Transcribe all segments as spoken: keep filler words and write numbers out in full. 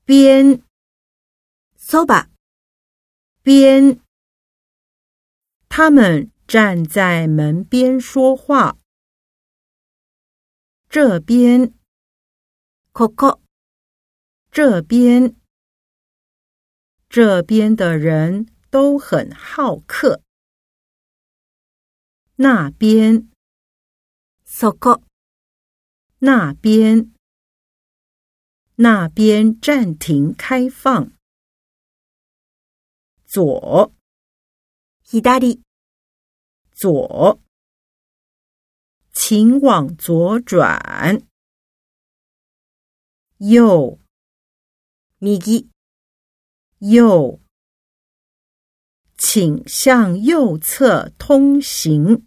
边そば边，他们站在门边说话。这边ここ这边，这边的人都很好客。那边そこ那边那边暂停开放。左左左，请往左转。右右右，请向右侧通行。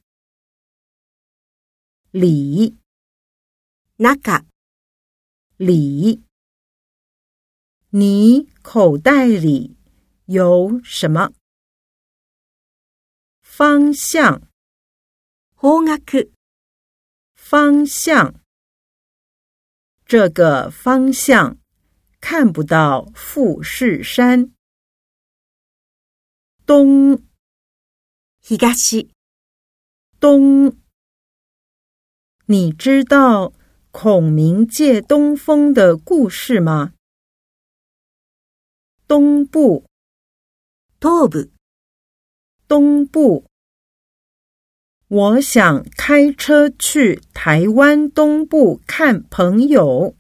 里中里，你口袋里有什么？方向方角方向，这个方向看不到富士山。东東东，你知道孔明借东风的故事吗？东部東部东部，我想开车去台湾东部看朋友。